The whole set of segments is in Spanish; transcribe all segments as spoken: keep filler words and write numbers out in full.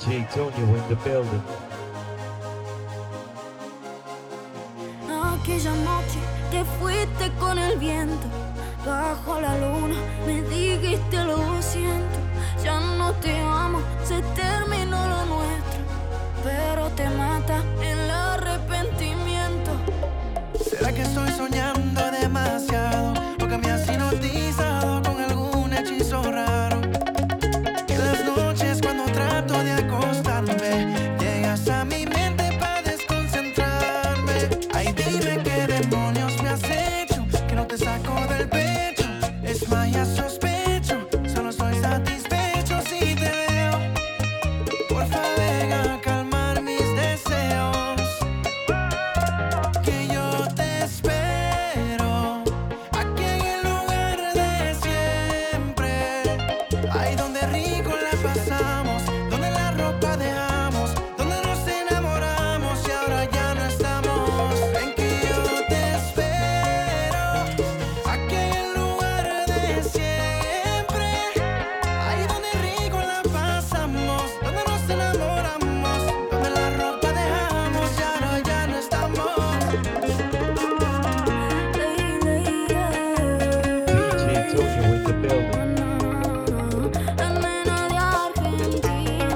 J Tonio in the building. Aquella noche te fuiste con el viento, bajo la luna me dijiste lo siento. Ya no te amo, se terminó lo nuestro, pero te mata el arrepentimiento. ¿Será que estoy soñando demasiado? ¿O que me has hipnotizado con algún hechizo raro? Que las noches cuando trato de acostarme llegas a mi mente para desconcentrarme. Ay, dime qué demonios me has hecho, que no te saco del pecho. Es magia, sospecho, solo estoy satisfecho si te veo. Porfa, ven a calmar mis deseos, que yo te espero aquí en el lugar de siempre. Ahí donde rico la pasamos, donde la ropa dejamos, donde nos enamoramos y ahora ya no estamos. Ven que yo te espero aquí en el lugar de siempre. Ahí donde rico la pasamos, donde nos enamoramos, donde la ropa dejamos y ahora ya no estamos. D J Tonio in the building. La nena de Argentina.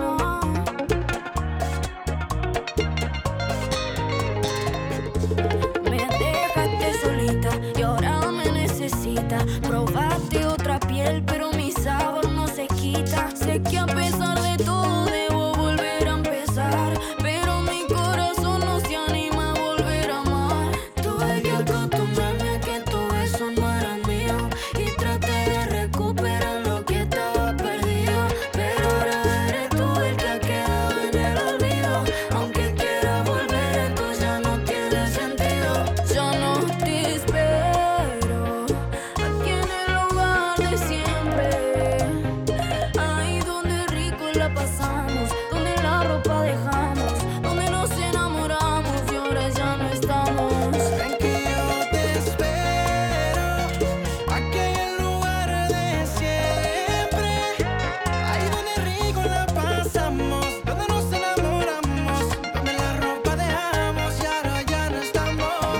Me dejaste solita y ahora me necesitas. Probaste otra piel, pero mi sabor no se quita. Sé que a pesar de todo debo volver a empezar, pero mi corazón no se anima a volver a amar. Tuve que acostumbrarme a que todo eso no era mío y traté de recuperar lo que estaba perdido, pero ahora eres tú el que ha quedado en el olvido. Aunque quiera volver, esto ya no tiene sentido. Ya no te espero aquí en el lugar de siempre. Ahí donde rico la pasamos, donde la ropa dejamos, donde nos enamoramos y ahora ya no estamos. Ven que yo te espero aquí en el lugar de siempre. Ahí donde rico la pasamos, donde nos enamoramos, donde la ropa dejamos y ahora ya no estamos.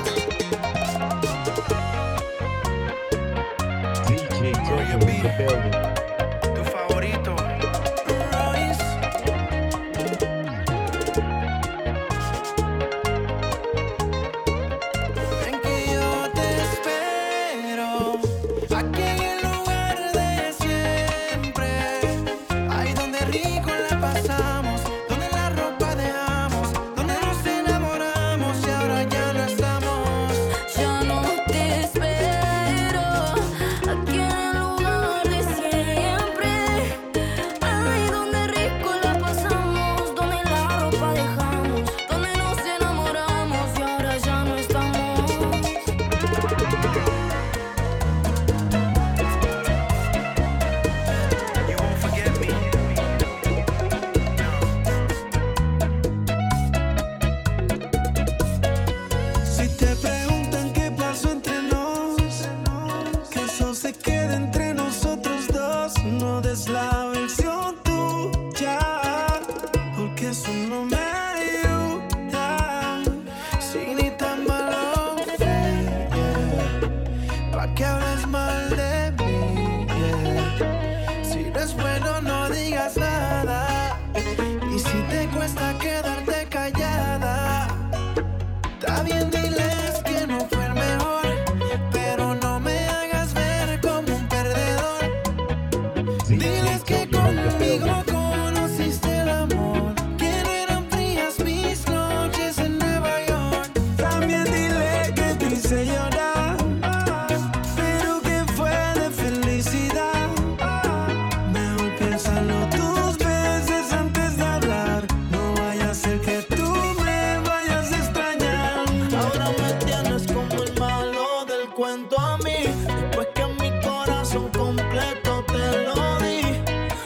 D J Tonio in the building. Tu favorito, Royce. Ven que yo te espero aquí en el lugar de siempre. Ahí donde rico la pasamos, donde la ropa dejamos, donde nos enamoramos y ahora ya no estamos. Ya no te espero aquí en el lugar de siempre. Ahí donde rico la pasamos, donde la ropa dejamos, donde nos enamoramos y ahora ya no estamos. You won't forget me. Si te preguntan qué pasó entre nos, que eso se quede entre nosotros dos. No des la versión tuya, porque eso no me ayuda. Si ni tan malo fue, yeah, pa' que hables mal de mí, yeah. Si no es bueno, no digas nada. Y si te cuesta quedarte callada, está bien, diles que no fue el mejor, pero no me hagas ver como un perdedor. Diles que conmigo conociste el amor, que no eran frías mis noches en Nueva York. También dile que te hice llorar, pero que fue de felicidad. Mejor piénsalo dos veces antes de hablar, no vaya a ser que tú me vayas a extrañar. Ahora me tienes como el malo del cuento a mí, después que mi corazón completo te lo di.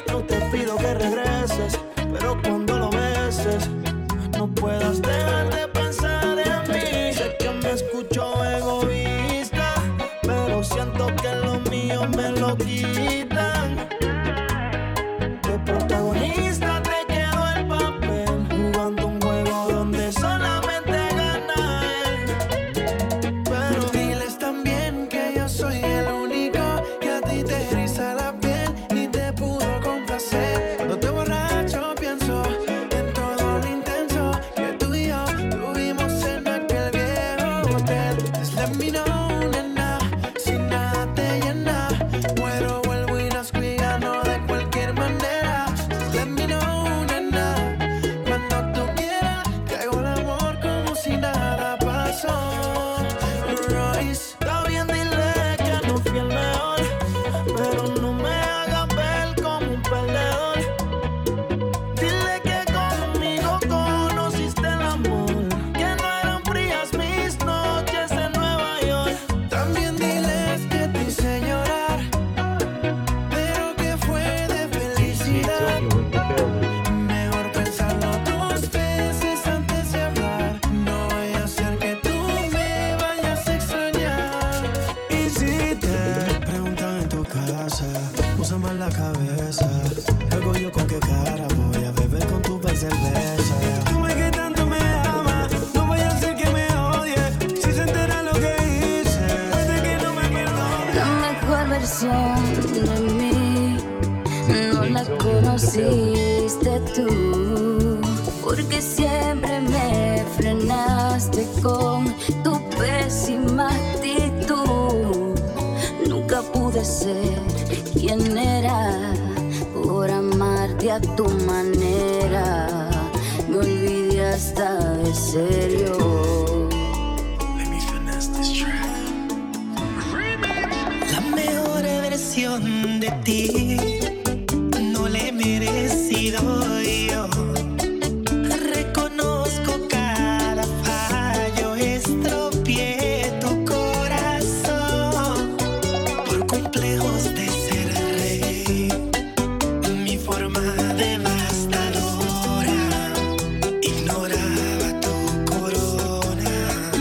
curiosidad. Toño in the building. Mejor pensarlo dos veces antes de hablar. No voy a hacer que tú me vayas a extrañar. Y si te preguntan en tu casa, usa más la cabeza. Luego yo con qué cara voy a beber con tu cerveza. Tú me que tanto me amas, no voy a hacer que me odie. Si se entera lo que hice, hace que no me perdone. La mejor versión de mí no la conociste tú, porque siempre me frenaste con tu pésima actitud. Nunca pude ser quien era por amarte a tu manera. Me olvidé hasta de serio. La mejor versión de ti no la he merecido yo. Reconozco cada fallo, estropeé tu corazón por complejos de ser rey. Mi forma devastadora ignoraba tu corona.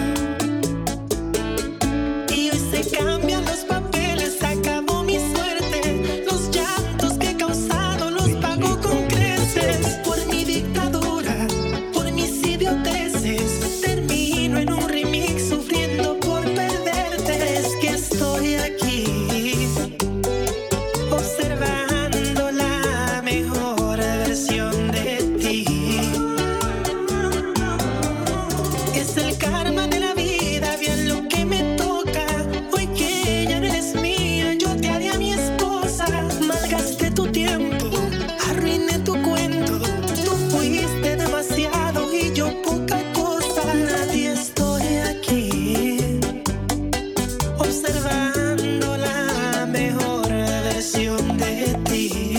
Y hoy se cambian los papeles, acabó mi suerte. Los llantos que he causado los pago con creces. Por mi dictadura, por mis idioteces, termino en un remix sufriendo por perderte. Es que estoy aquí observando la mejor versión de ti. Es el karma de la vida, bien lo que me toca. Hoy que ya no eres mía, yo te haré a mi esposa. Malgasté tu tiempo, arruiné tu cuento. Tú fuiste demasiado y yo poca cosa. Nadie estoy aquí observando la mejor versión de ti.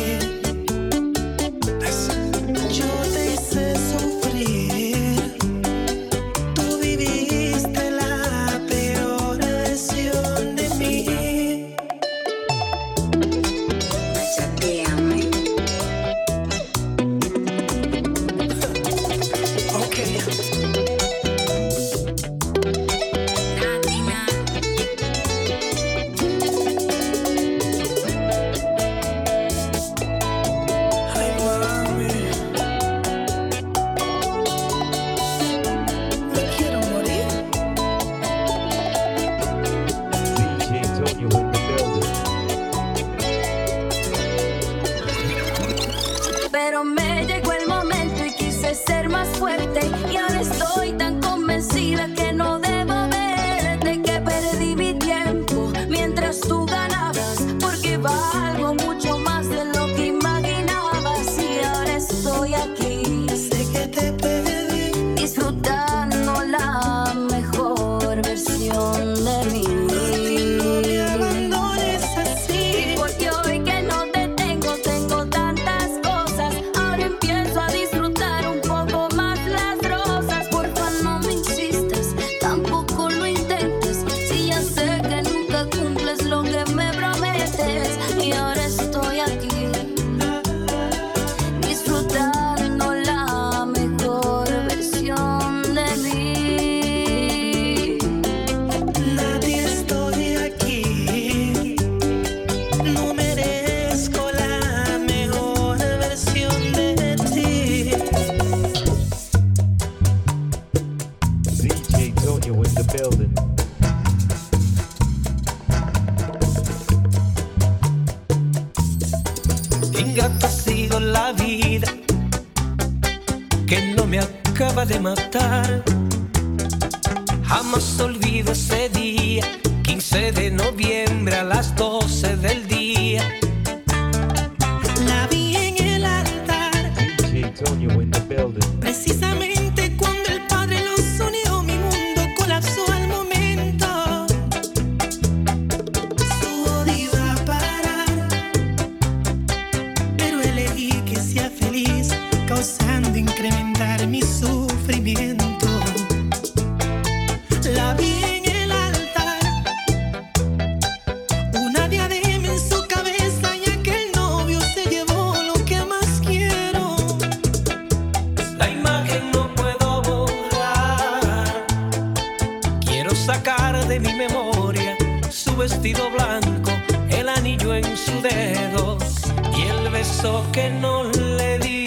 Yo te hice sufrir, tú viviste la peor versión de mí. Chateame. Ok. Latina. Ay, mami, me quiero morir. D J Toño in the building. Pero me llegó el momento y quise ser más fuerte. Y ahora estoy tan convencida que no debo verte, que perdí mi tiempo mientras tú ganabas, porque valgo mucho más de lo que imaginabas. Y ahora estoy aquí Sé que te perdí. disfrutando la mejor versión de mí. No me abandones así. Porque hoy que no te tengo, tengo tantas cosas. Ahora empiezo a disfrutar un poco más las rosas. Porfa, no me insistas, tampoco lo intentes. Si ya sé que nunca cumples lo que me prometes. Y ahora estoy aquí disfrutando la mejor versión de mí. Nadie estoy aquí. No merezco la mejor versión de ti. D J Toño in the building. Ingrato ha sido la vida que no me acaba de matar. Jamás olvido ese día, quince de noviembre a las doce del día. La vi en el altar, D J Toño in the building. precisamente cuando el Padre los unió. Mi mundo colapsó al momento. Su odio iba a parar, pero elegí que sea feliz, causando incrementar mi sufrimiento. La vi en el altar, una diadema en vestido blanco, el anillo en su dedo y el beso que no le di.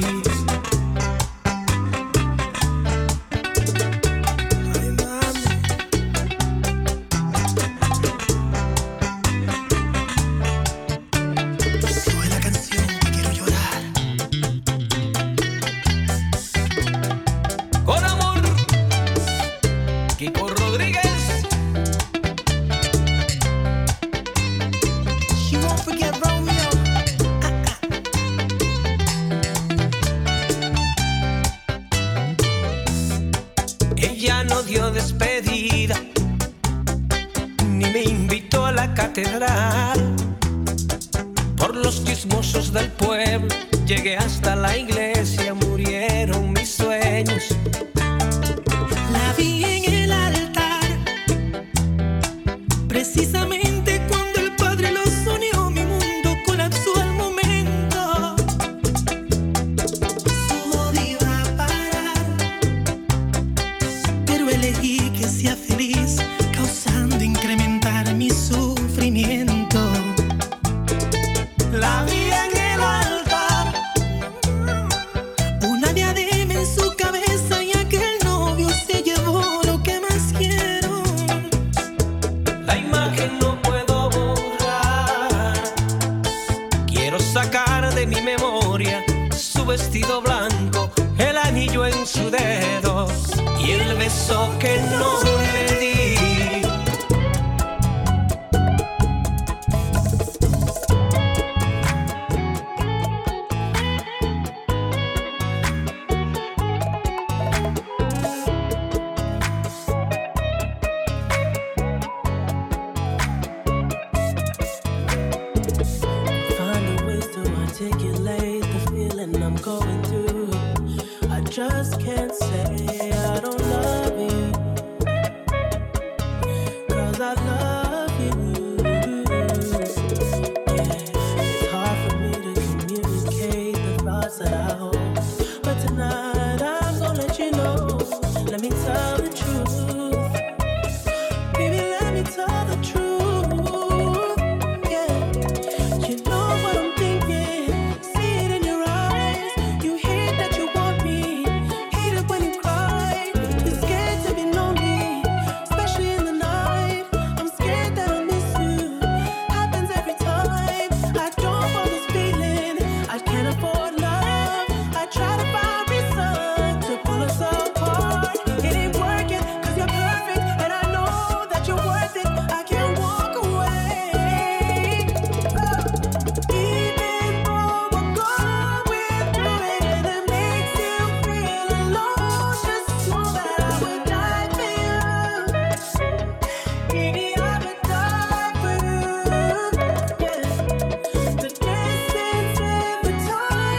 Ella no dio despedida, ni me invitó a la catedral. Por los chismosos del pueblo llegué hasta la iglesia, murieron mis sueños. La vi en el altar, precisamente cuando el Padre los unió, mi mundo colapsó al momento. Su boda iba a parar, pero elegí que sea feliz, causando incrementar mi sufrimiento. La vi en el altar, una diadema en su cabeza, y aquel novio se llevó lo que más quiero. La imagen no puedo borrar, quiero sacar de mi memoria su vestido blanco, el anillo en su dedo y el beso que no le di. Finding ways to articulate the feeling I'm going through. I just can't say I don't love you, 'cause I love you. Yeah, it's hard for me to communicate the thoughts that I hold, but tonight I'm gonna let you know. Let me tell the truth, baby, let me tell the truth. Yeah, you know what I'm thinking, see it in your eyes. You hate that you want me, hate it when you cry. You're scared to be lonely, especially in the night. I'm scared that I'll miss you, happens every time. I don't want this feeling, I can't afford love. I try to find reason to pull us apart. It ain't working, 'cause you're perfect, and I know that you're worth it. I can't walk away. Even though we're going through it and it makes you feel alone, just know that I would die for you. Baby, I would die for you. Yeah. The distance and the time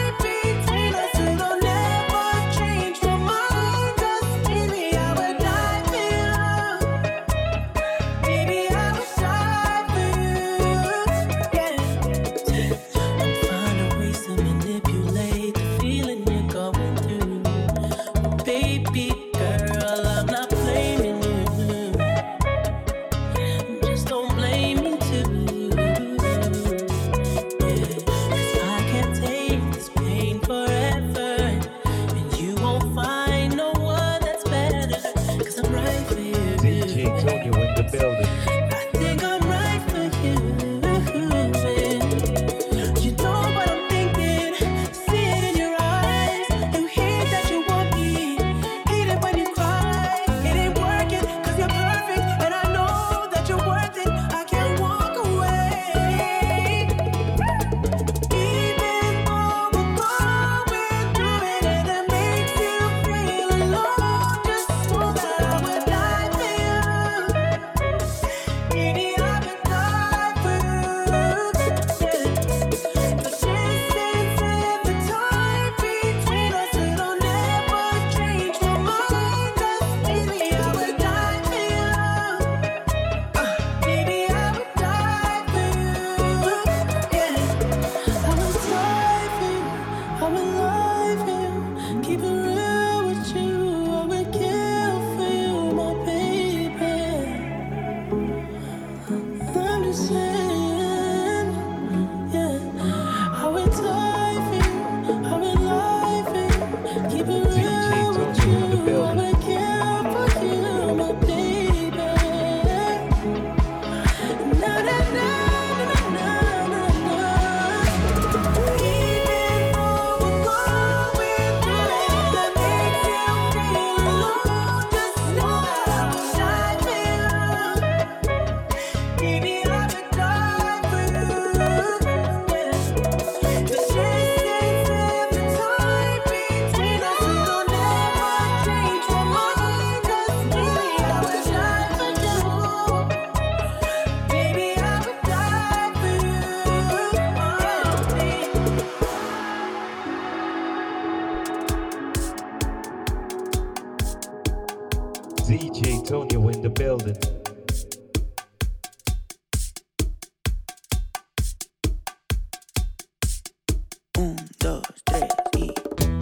D J Tonio in the building. Un, dos, tres y...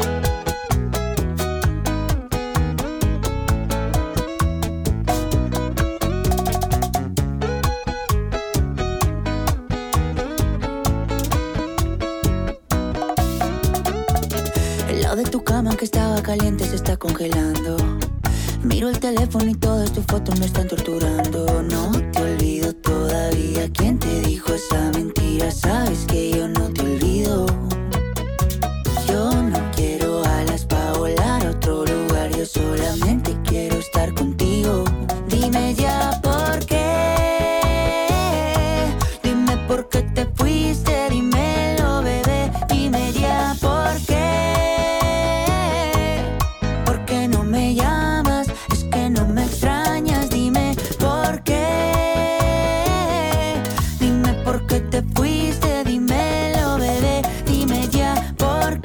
El lado de tu cama que estaba caliente se está congelando. Miro el teléfono y todas tus fotos me están torturando. No te olvido todavía. ¿Quién te dijo esa mentira? Sabes que yo no te olvido. Yo no quiero alas pa' volar a otro lugar. Yo solamente quiero estar contigo. Dime ya por qué. Dime por qué te fuiste. Dímelo, bebé. Dime ya por qué. ¿Por qué no me llamas? Es que no me extrañas. Dime por qué. Dime por qué te fuiste. Dímelo, bebé. Dime ya por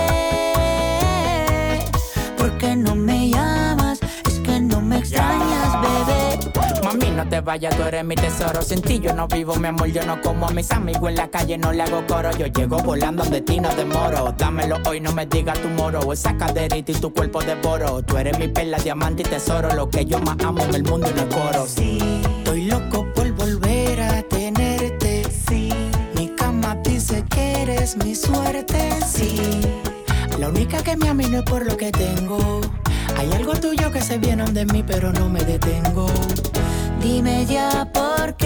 qué. ¿Por qué no me llamas? Es que no me extrañas, bebé. Mami, no te vayas, tú eres mi tesoro. Sin ti yo no vivo, mi amor, yo no como a mis amigos en la calle, no le hago coro. Yo llego volando donde ti no demoro. Dámelo hoy, no me digas tu moro. Esa caderita y tu cuerpo devoro. Tú eres mi perla, diamante y tesoro. Lo que yo más amo en el mundo y no el coro. Sí, estoy loco por volver a tenerte. Sí, mi cama dice que eres mi suerte. Sí, la única que me ama y no es por lo que tengo. Hay algo tuyo que se viene de mí, pero no me detengo. Dime ya por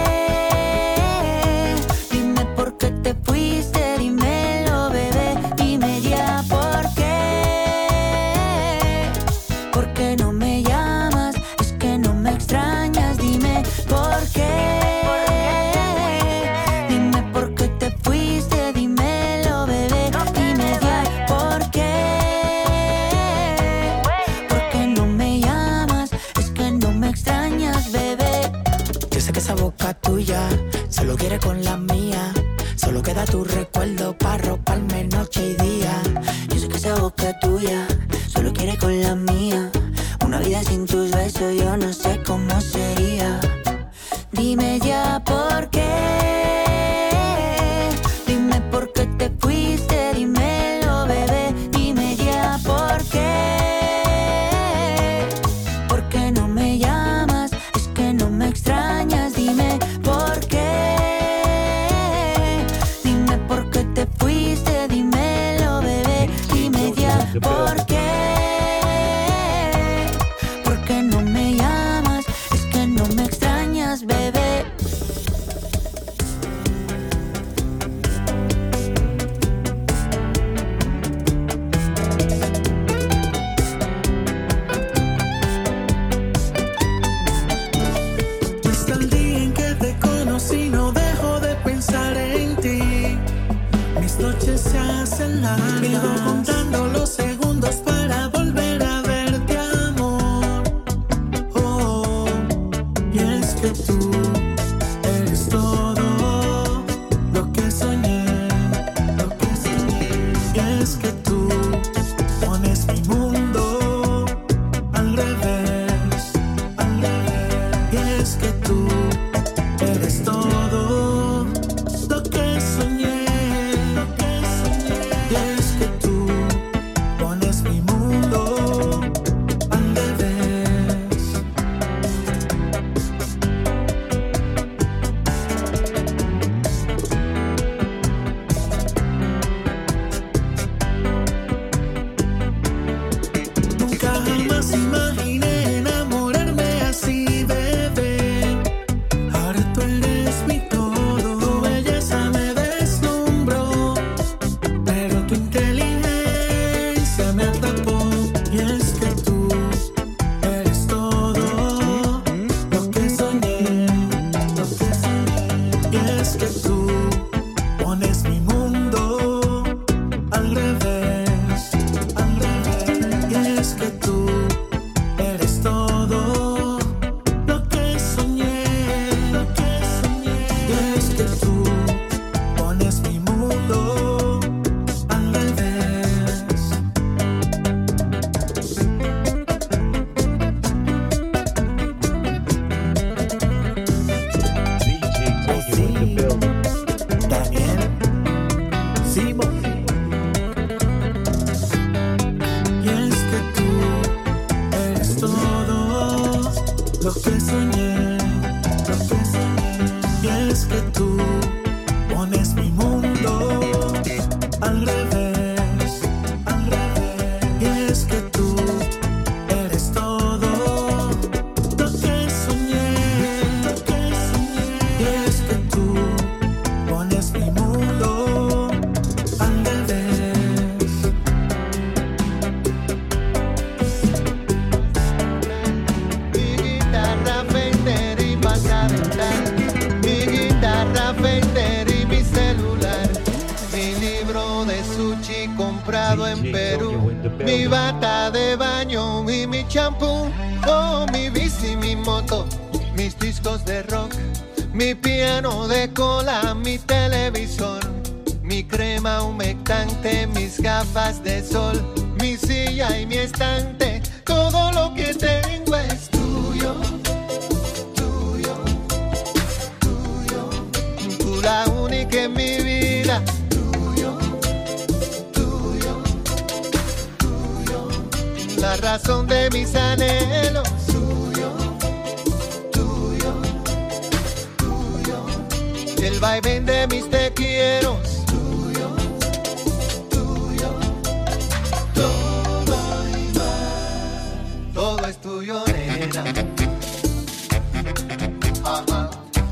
qué. Dime por qué te fuiste. Dímelo, bebé. Dime ya por qué. ¿Por qué no me llamas? Es que no me extrañas. Dime por qué. Dime por qué te fuiste. Dímelo, bebé. Dime ya por qué. ¿Por qué no me llamas? Es que no me extrañas, bebé. Yo sé que esa boca tuya solo quiere con la mía. Solo queda tu recuerdo para roparme noche y día. Yo sé que esa boca tuya solo quiere con la mía. Una vida sin tus besos yo no sé cómo sería. Dime ya por qué. Dime por qué te fuiste. Dímelo, bebé. Dime ya por qué. ¿Por qué no me llamas? Es que no me extrañas. Dime por qué. Dime por qué te fuiste. Dímelo, bebé. Dime ya por qué. ¿Por qué no me llamas? Es que no me extrañas, bebé. Hasta el día en que te conocí no dejo de pensar en ti. Mis noches se hacen largas. Vivo contando los segundos para volver a verte, amor. Oh, y es que tú eres todo lo que soñé, lo que soñé. Y es que tú pones mi mundo al revés, al revés. Y es que tú eres todo lo que soñé, lo que soñé. Y es que tú pones mi mundo al revés. Nunca jamás imaginé enamorarme así, bebé. Ahora tú eres mi todo. Tu belleza me deslumbró, pero tu inteligencia me atrapó. Y es que tú eres todo lo que soñé, lo que soñé. Y es que tú pones mi mundo al revés, al revés. Y es que tú eres todo lo que soñé, lo que soñé. Y es que tú pones mi mundo al revés. Simón. Y es que tú eres todo lo que soñé, lo que soñé. Y es que tú pones mi mundo al revés, al revés. Y es que tú eres todo lo que soñé, lo que soñé. Y es que tú pones mi mundo al revés. Mi guitarra Fender y pasadental, mi guitarra Fender y mi celular, mi libro de sushi comprado en Perú, mi bata de baño y mi champú, oh, mi bici, mi moto, mis discos de rock, mi piano de cola, mi televisor, mi crema humectante, mis gafas de sol, mi silla y mi estante, todo lo que tengo es tuyo, tuyo, tuyo, tú la única en mi vida, tuyo, tuyo, tuyo, la razón de mis anhelos, tuyo, tuyo, tuyo, el vaivén de mis te quiero, tuyo, tuyo, todo y más, todo es tuyo, nena. Ajá.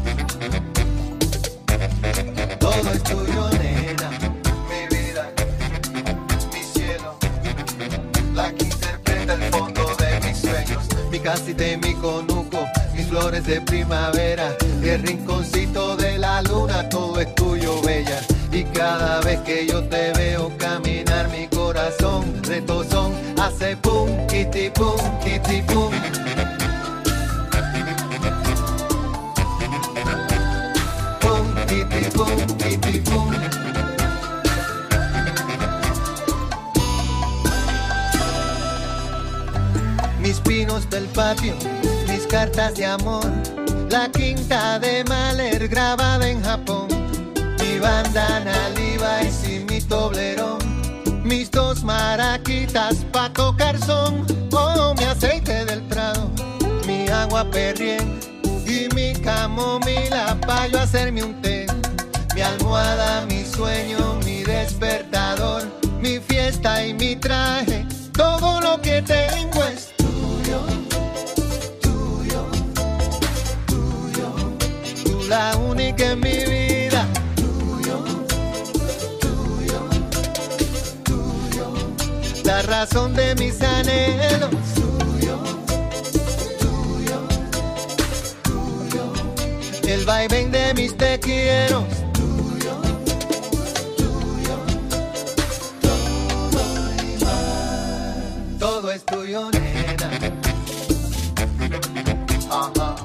Todo es tuyo, nena, mi vida, mi cielo, la que interpreta el fondo de mis sueños, mi casita y mi conuco, mis flores de primavera, el rinconcito de la luna, todo es tuyo, bella. Y cada vez que yo te veo caminar, mi corazón retozón hace pum, kitty pum, kitty pum. Pum, kitty pum, kitty pum. Mis pinos del patio, mis cartas de amor, la quinta de Mahler grabada en Japón, mi bandana Levi's y mi toblerón, mis dos maraquitas pa' tocar son, oh, mi aceite del Prado, mi agua Perrier y mi camomila pa' yo hacerme un té, mi almohada, mi sueño, mi despertador, mi fiesta y mi traje, todo lo que tengo es tuyo, tuyo, tuyo, tú la única en mi vida, tuyo, tuyo, tuyo, la razón de mis anhelos, tuyo, tuyo, tuyo, el vaivén de mis te quiero, tuyo, tuyo, todo y más, todo es tuyo, nena. Ajá.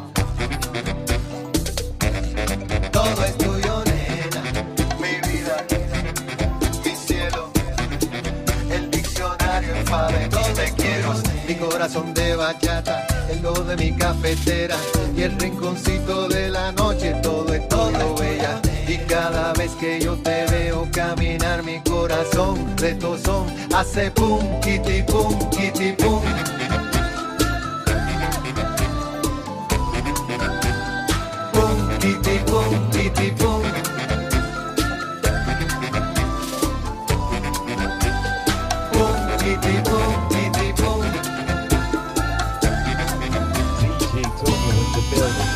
Todo es tuyo, nena, mi vida, mi cielo, el diccionario enfade, todo te quiero, mi corazón de bachata, el do de mi cafetera y el rinconcito de la noche, todo es todo, bella. Y cada vez que yo te veo caminar, mi corazón retozón hace pum, kitty pum, kitty pum. Pum, kitty pum, kitty pum. Pum, kitty pum, kitty pum. D J Tonio in the building.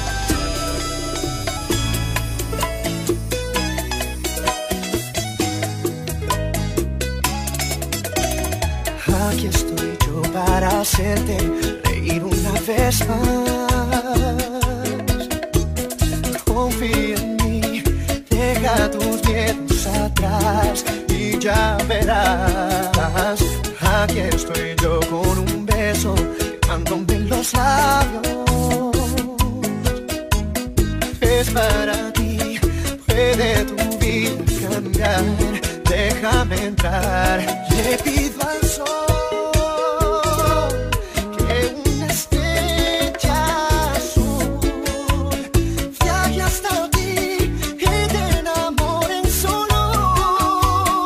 Aquí estoy yo para hacerte reír una vez más. Confía en mí, deja tus miedos atrás y ya verás. Aquí estoy yo con un beso quemándome los labios. Es para ti, puede tu vida cambiar. Déjame entrar, le pido al sol que una estrella azul viaje hasta ti y te enamore en su luz.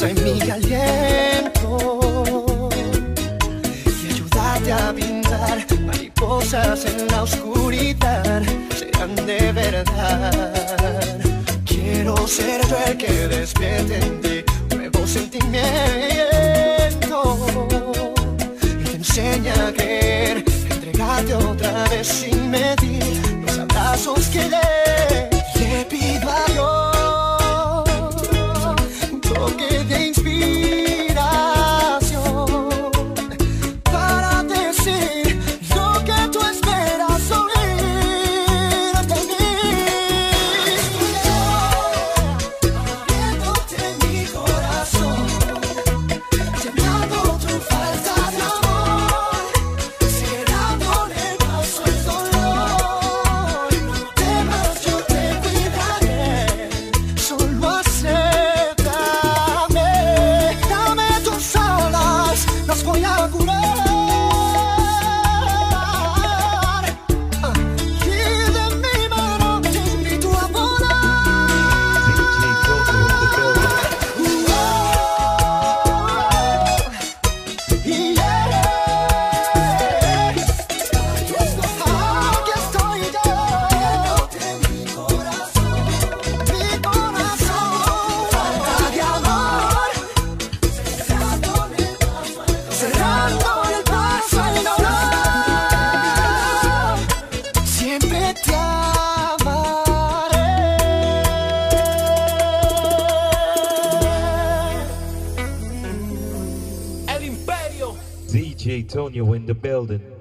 fuerza en mi aliento y ayudarte a pintar mariposas en la oscuridad. Serán de verdad. Quiero ser yo el que despierte en ti nuevo sentimiento y te enseña a querer, entregarte otra vez sin medir los abrazos que le, le pido a Dios. Un toque de inspiración para decir lo que tú esperas oír de mí. Abriéndote mi corazón, llenando tu falta de amor, cerrándole el paso al dolor. No temas, yo te cuidaré, solo acéptame. Dame tus alas, las voy a curar. Ah, y de mi mano te invito a volar. D J Toto in the building. Y yeah, aquí estoy yo, abriéndote mi corazón, mi corazón, falta de amor, cerrándole el paso al dolor, cerrándole el paso al dolor. Siempre te amaré. El Imperio. D J Tonio in the building.